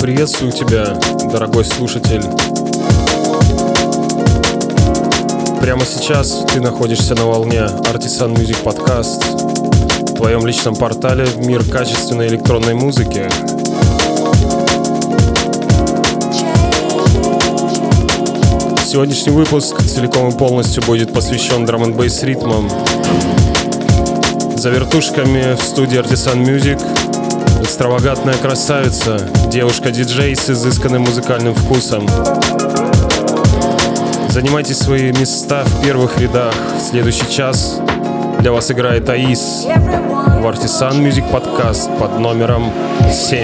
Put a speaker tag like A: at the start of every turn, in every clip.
A: Приветствую тебя, дорогой слушатель. Прямо сейчас ты находишься на волне Artisan Music Podcast, в твоем личном портале в мир качественной электронной музыки. Сегодняшний выпуск целиком и полностью будет посвящен драм-н-бейс ритмам. За вертушками в студии Artisan Music экстравагантная красавица, девушка-диджей с изысканным музыкальным вкусом. Занимайте свои места в первых рядах. Следующий час для вас играет Аис в Artisan Music Podcast под номером 7.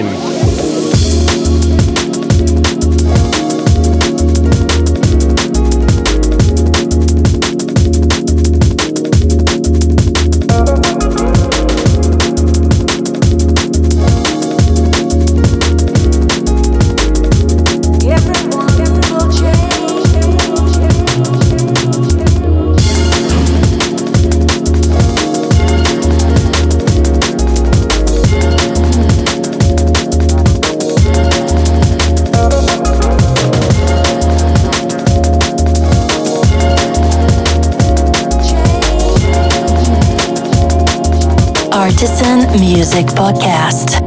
B: Artisan Music Podcast.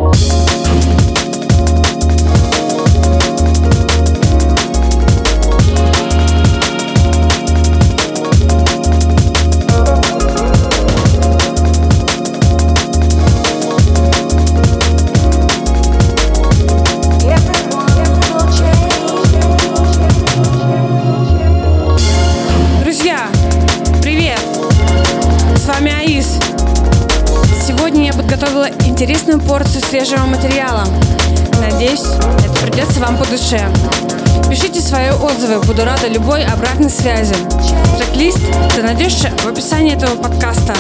C: Друзья, привет! С вами Аис. Сегодня я подготовила интересную порцию свежего материала. Надеюсь, это придется вам по душе. Пишите свои отзывы, буду рада любой обратной связи. Трек-лист ты найдешь в описании этого подкаста.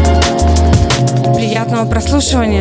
C: Приятного прослушивания!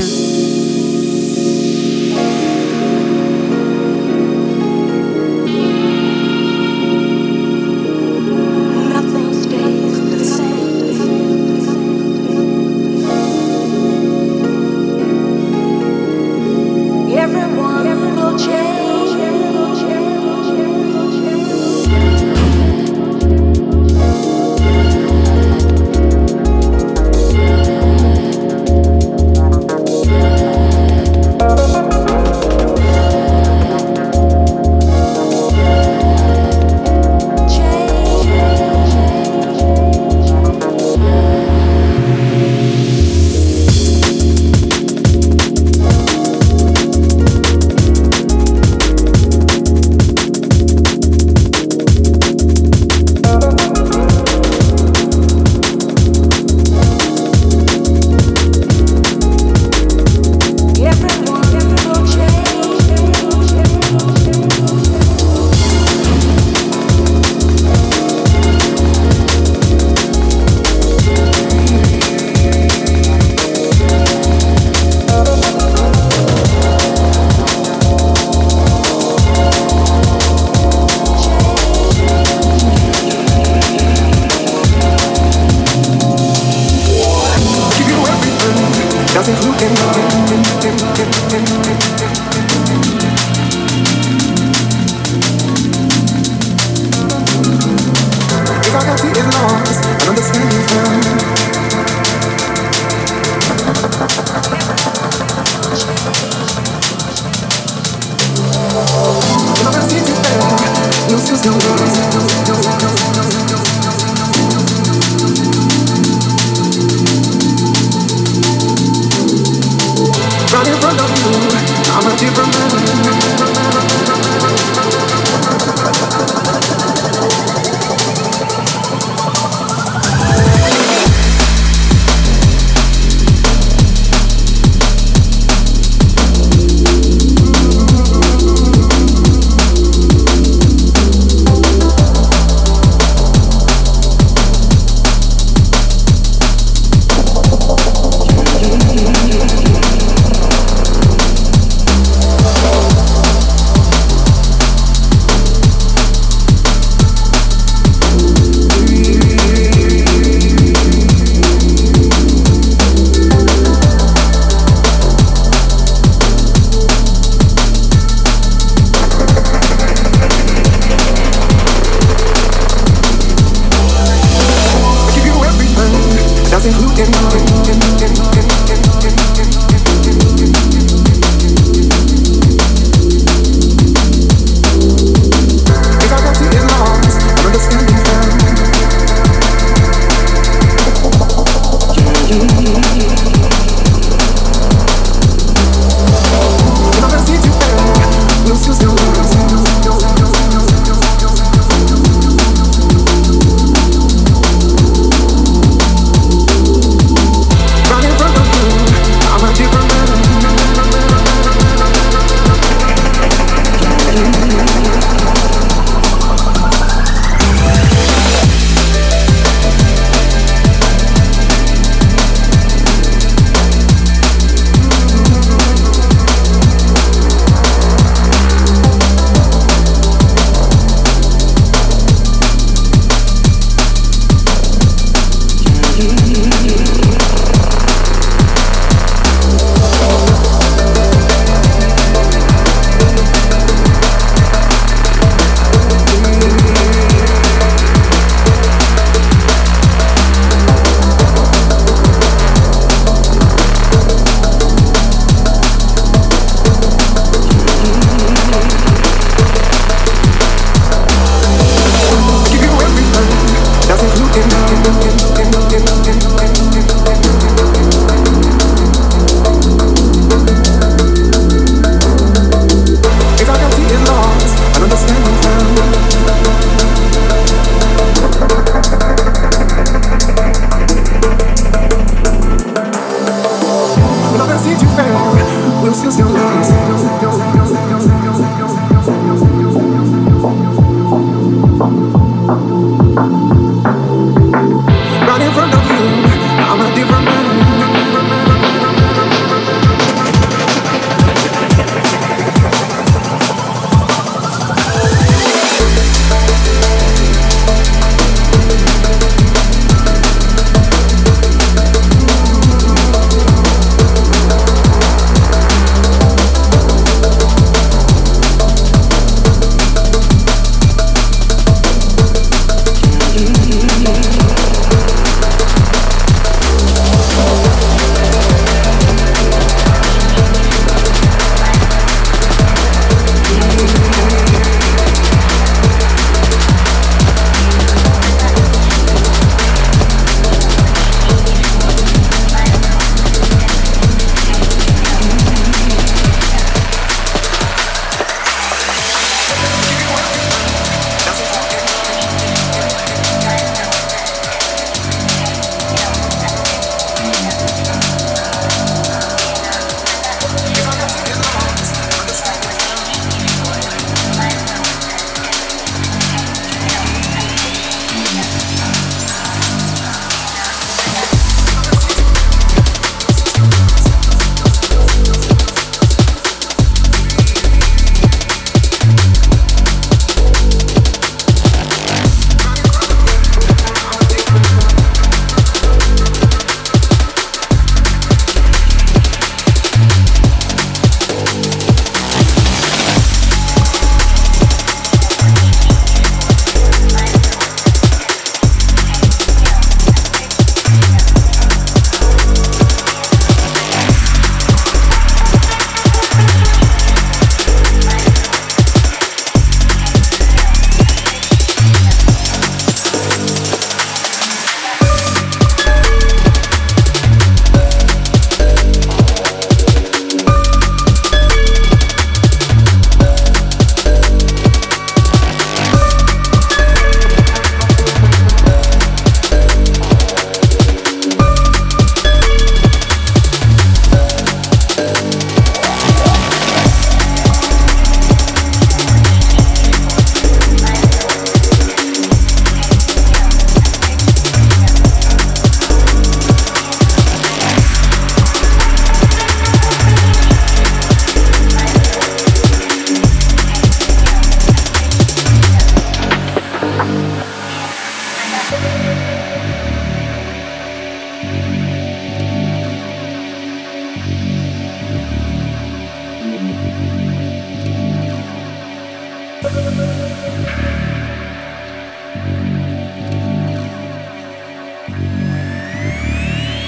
D: Right in front of you, I'm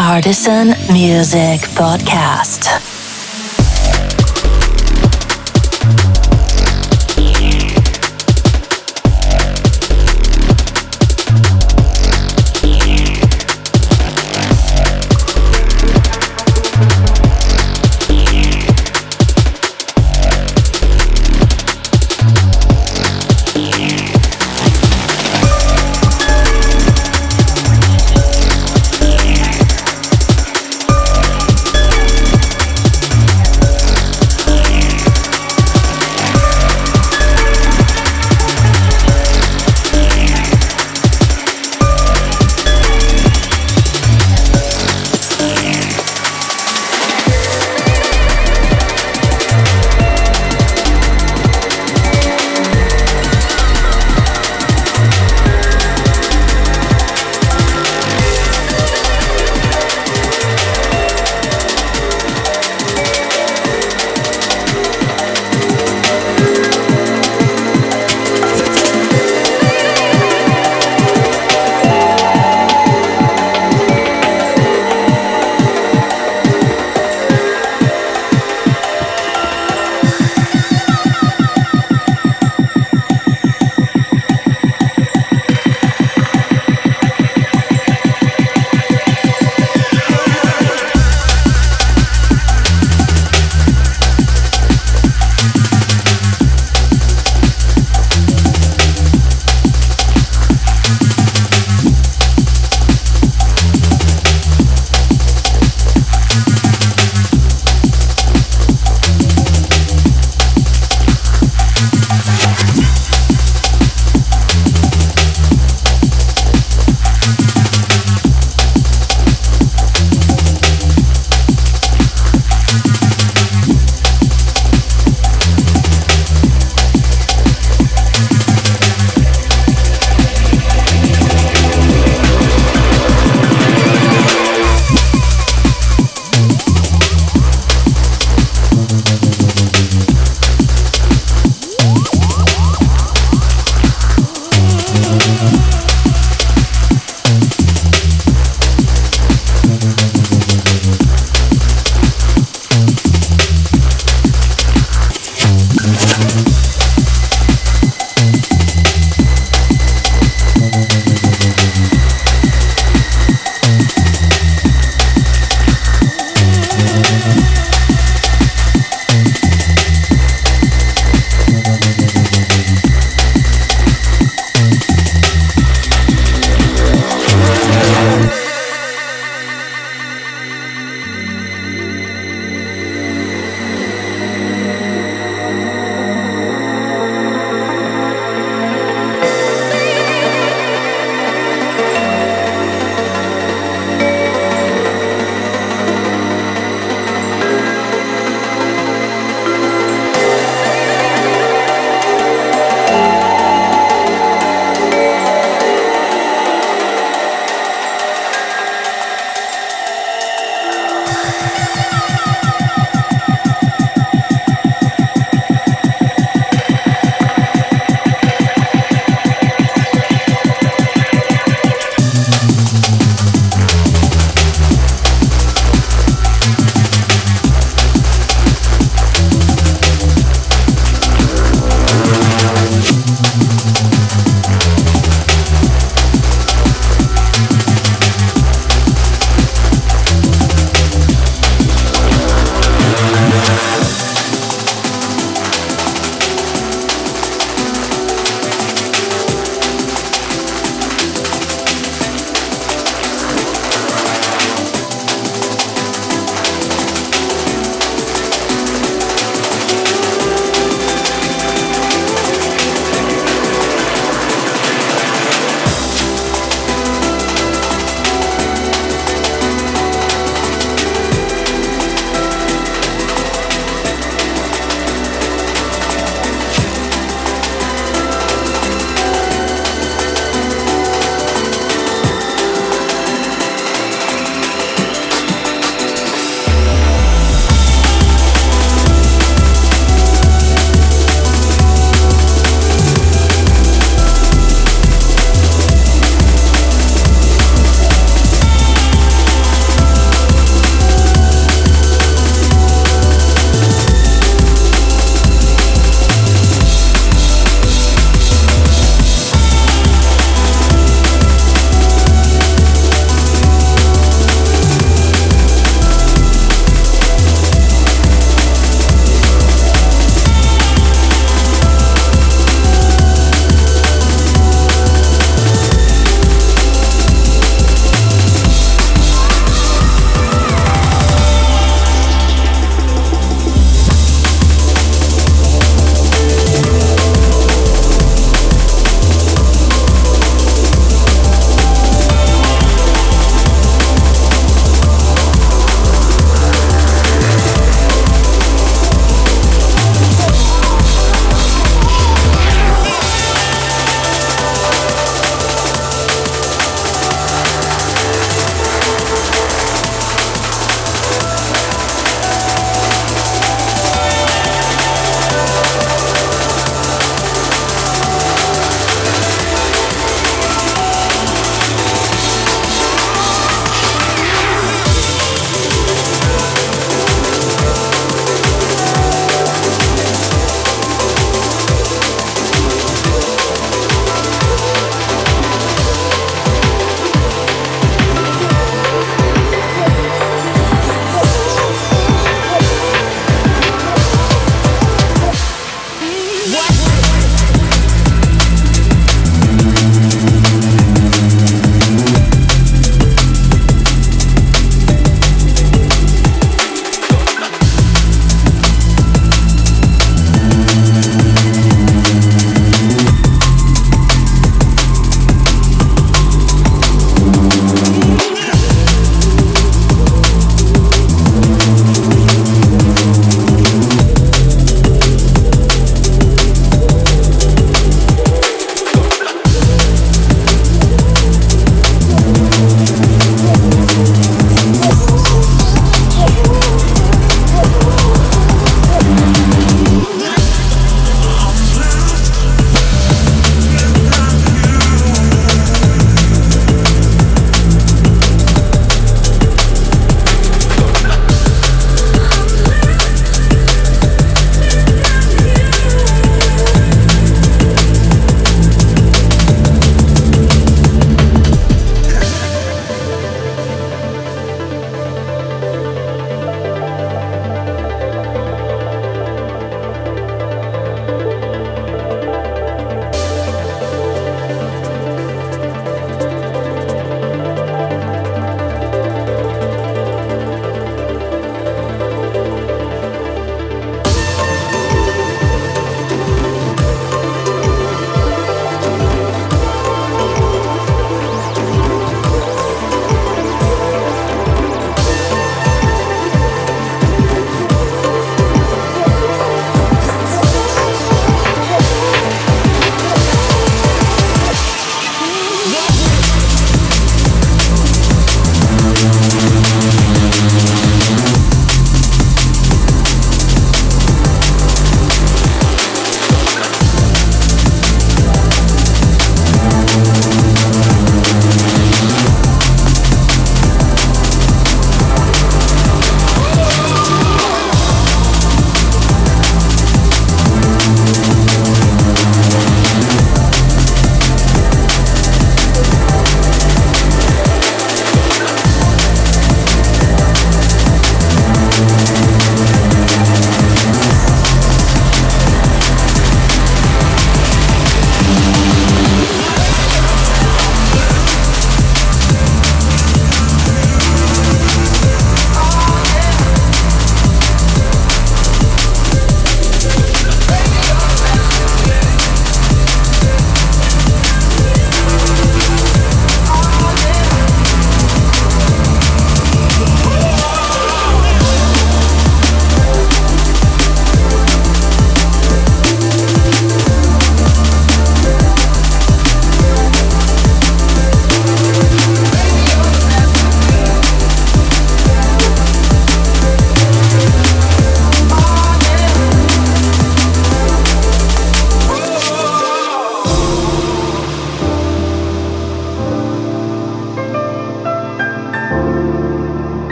B: Artisan Music Podcast.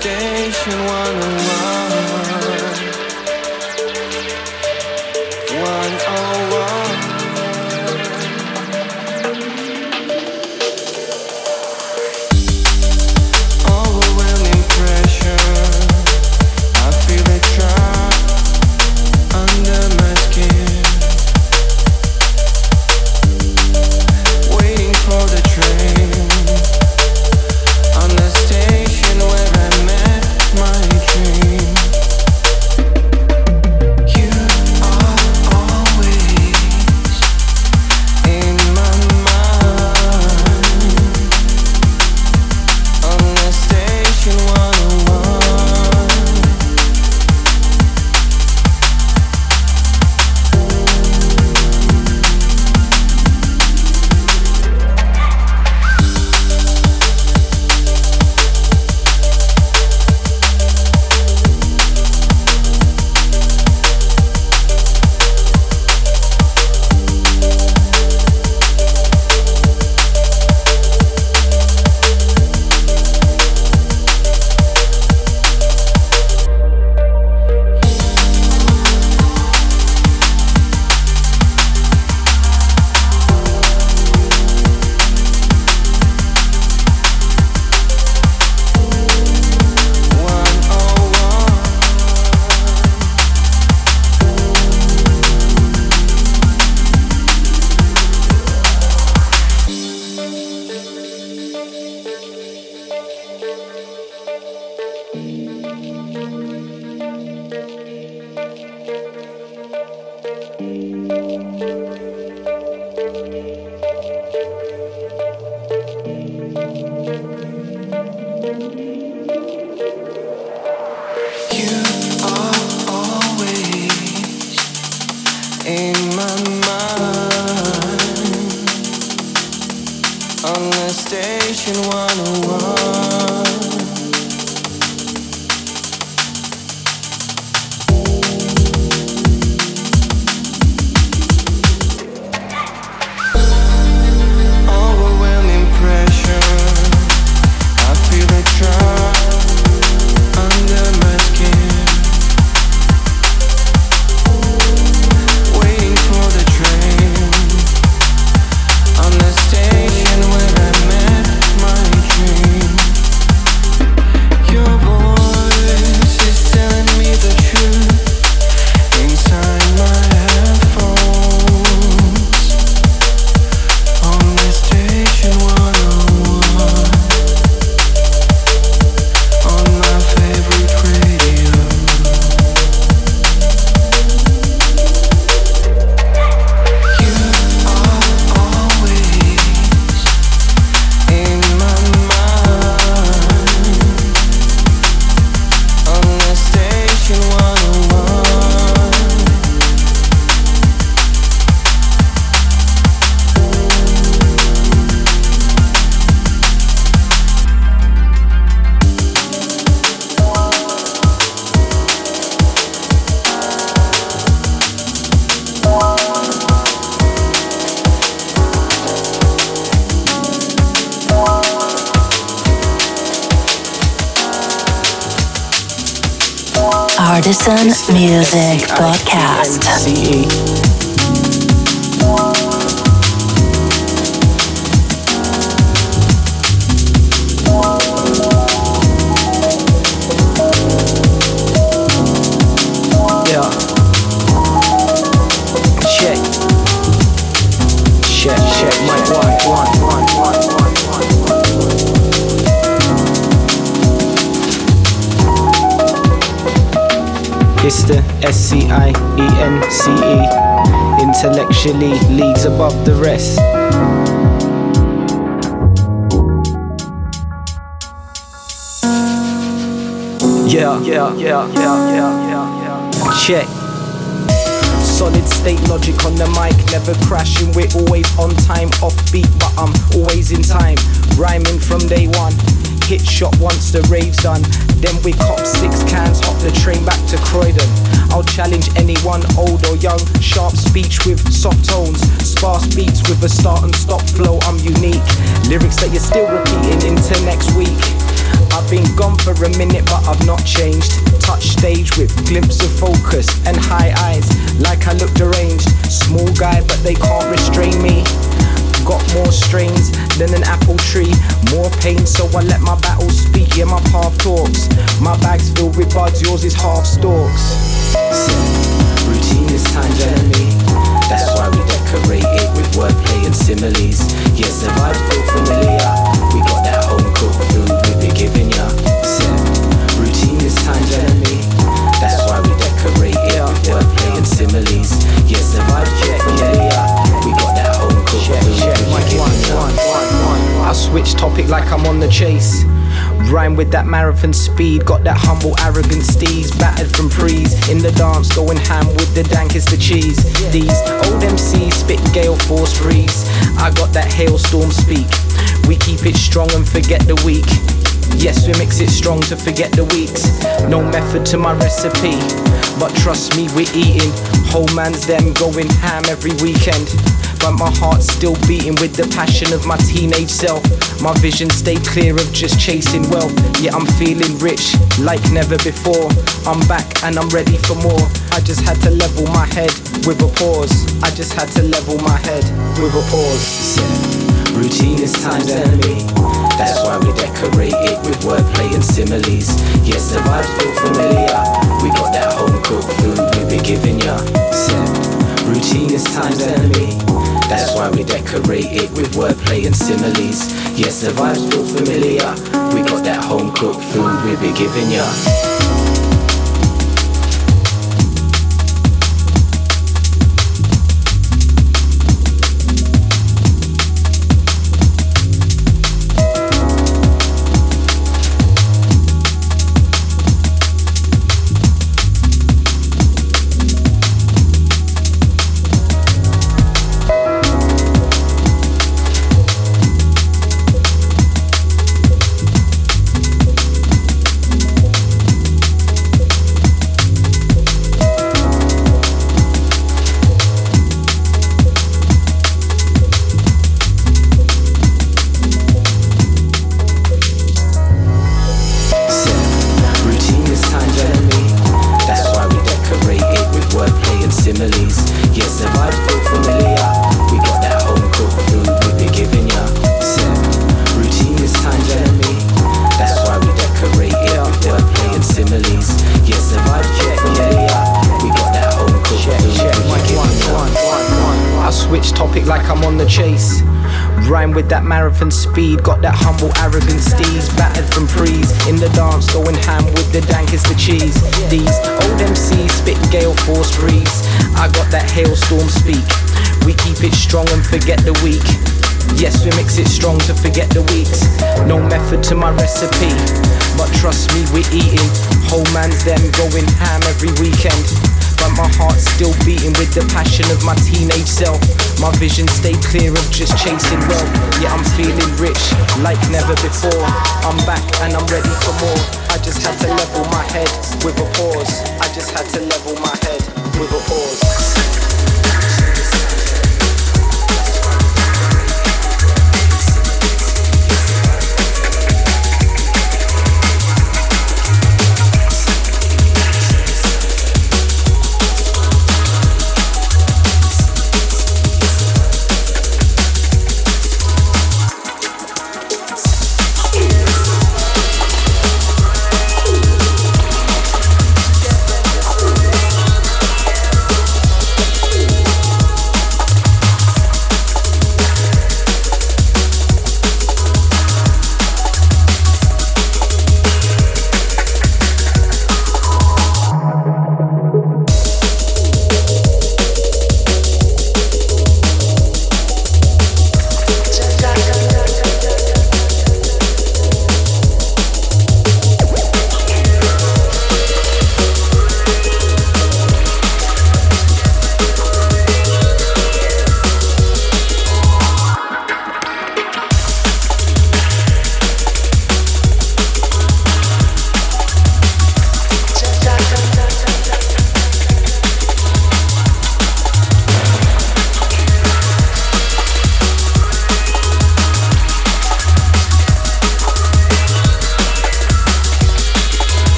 D: Station 101. 101. Overwhelming pressure, I feel it trapped under my skin. Waiting for the train on the station where I met my dream. You are always in my mind on the station 101. You are always in my mind on the station 101. Overwhelming pressure, I feel it trapped under my skin. Waiting for the train on the station where I met my dream. Your voice is telling me the truth inside my headphones on the station 101. On my favorite radio. You are always in my mind on the station 101.
B: Artisan Music Podcast.
D: CE. Yeah. Check. Check. Mic one. It's the SCIENCE, intellectually leagues above the rest. Yeah. Check. Solid state logic on the mic, never crashing, we're always on time. Offbeat, but I'm always in time. Rhyming from day one. Hit shot once the rave's done. Then we cop 6 cans, hop the train back to Croydon. I'll challenge anyone, old or young. Sharp speech with soft tones, sparse beats with a start and stop flow. I'm unique. Lyrics that you're still repeating into next week. I've been gone for a minute, but I've not changed. Touch stage with glimpse of focus and high eyes, like I look deranged. Small guy, but they can't restrain me. Got more strains than an apple tree. More pain, so I let my battles speak. Yeah, my path talks. My bag's filled with buds, yours is half stalks. Routine is time's enemy. That's why we decorate it with wordplay and similes. Yes, the vibes feel familiar. We got that home cooked food we be giving ya. Routine is time's enemy. That's why we decorate it with wordplay and similes. Yes, the vibes feel familiar. We got that home cooked food we be giving ya. I switch topic like I'm on the chase. Rhyme with that marathon speed. Got that humble, arrogant steez. Battered from prees. In the dance, going ham with the dankest the cheese. These old MCs spit gale force breeze. I got that hailstorm speak. We keep it strong and forget the weak. Yes, we mix it strong to forget the weeks. No method to my recipe, but trust me, we're eating. Whole man's them going ham every weekend. But my heart's still beating with the passion of my teenage self. My vision stayed clear of just chasing wealth. Yeah, I'm feeling rich like never before. I'm back and I'm ready for more. I just had to level my head with a pause. I just had to level my head with a pause. Routine is time's enemy. That's why we decorate it with wordplay and similes. Yes, the vibes feel familiar. We got that home cooked food we be giving ya. Routine is time's enemy. That's why we decorate it with wordplay and similes. Yes, the vibes feel familiar. We got that home cooked food we be giving ya. Rhyme with that marathon speed. Got that humble, arrogant steez. Battered from prees. In the dance, going ham with the dankest the cheese. These old MCs spit gale force breeze. I got that hailstorm speak. We keep it strong and forget the weak. Yes, we mix it strong to forget the weeks. No method to my recipe, but trust me, we're eating. Whole man's them going ham every weekend. But my heart's still beating with the passion of my teenage self. My vision stayed clear of just chasing wealth. Yeah, I'm feeling rich like never before. I'm back and I'm ready for more. I just had to level my head with a pause. I just had to level my head with a pause.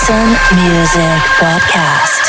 B: Artisan Music Podcast.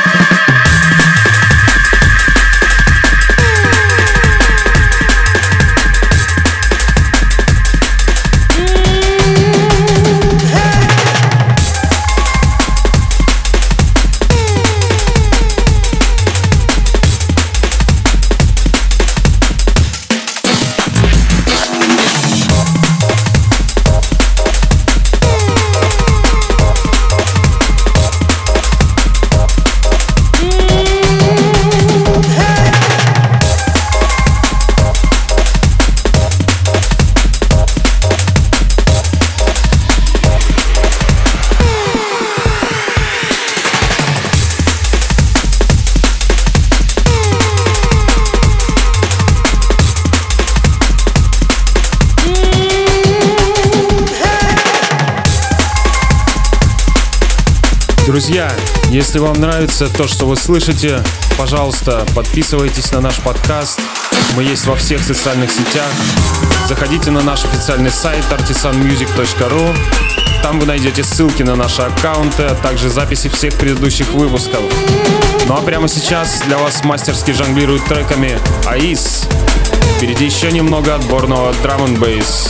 A: Друзья, если вам нравится то, что вы слышите, пожалуйста, подписывайтесь на наш подкаст. Мы есть во всех социальных сетях. Заходите на наш официальный сайт artisanmusic.ru. Там вы найдете ссылки на наши аккаунты, а также записи всех предыдущих выпусков. Ну а прямо сейчас для вас мастерски жонглирует треками Аис. Впереди еще немного отборного драм-н-бейс.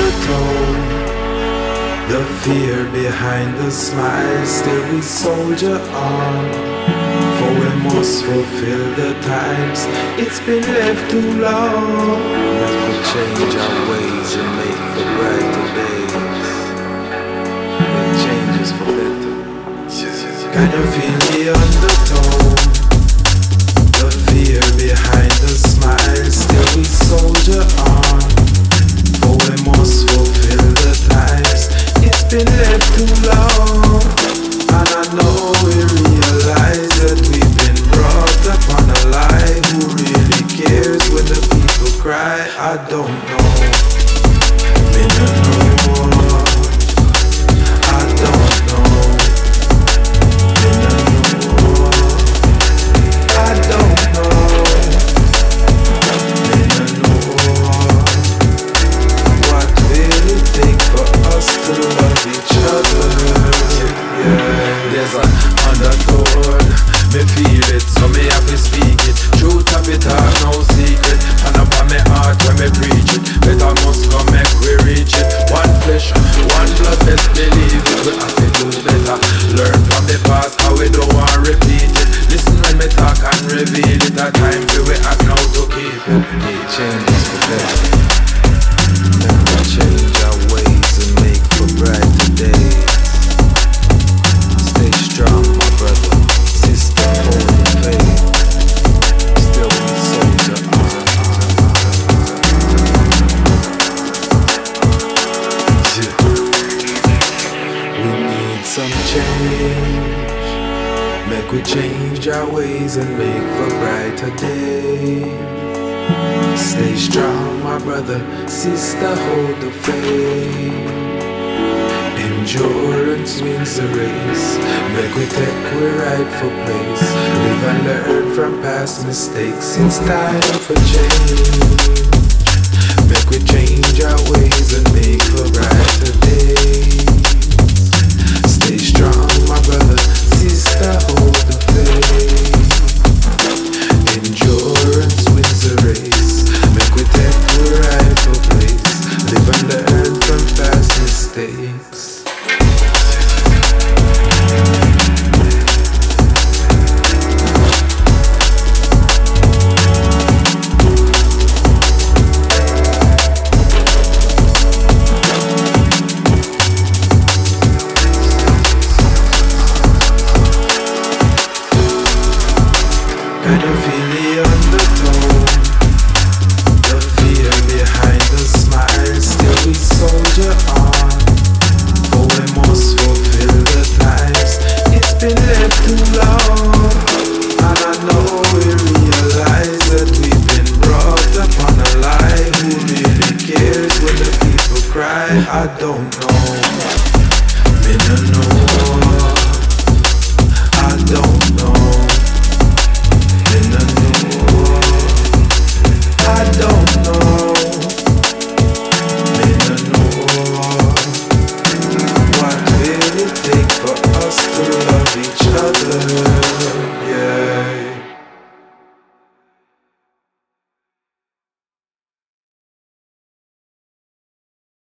E: undertone. The fear behind the smile, still we soldier on. For we must fulfill the times, it's been left too long. Let us change our ways and make for brighter days. Make changes for better. Can you feel the undertone? The fear behind the smile, still we soldier on. For we must fulfill the times, it's been left too long. And I know we realize that we've been brought up on a lie. Who really cares when the people cry? I don't know. Me no know. I don't know. Me no know. I don't know. Me no know. What will it take for us to love each other? Yeah, there's an undertone. Me feel it, so me have to speak it. Truth of it are no secret. And upon me heart when me preach it. Better must come make we reach it. One flesh, one blood, best believe it. We have to do better. Learn from the past how we don't want repeat it. Listen when me talk and reveal it. A time for we act now to keep it. Need changes for better. Let me change our ways and make for brighter days. Stay strong, my brother, sister, hold the faith. Still we soldier on. Yeah. We need some change. Make we change our ways and make for brighter days. Stay strong, my brother, sister, hold the faith. Endurance wins the race. Make we take we rightful place. Live and learn from past mistakes. It's time for change. Make we change our ways and make for brighter days. Stay strong, my brother, sister, hold the faith. Endurance wins the race. Make we take we rightful place. Live and learn from past mistakes. Can you feel the undertone? The fear behind the smile, still we soldier on. For we must fulfill the times, it's been left too long. And I know we realize that we've been brought up on a lie. Who really cares when the people cry? I don't know. Me no know.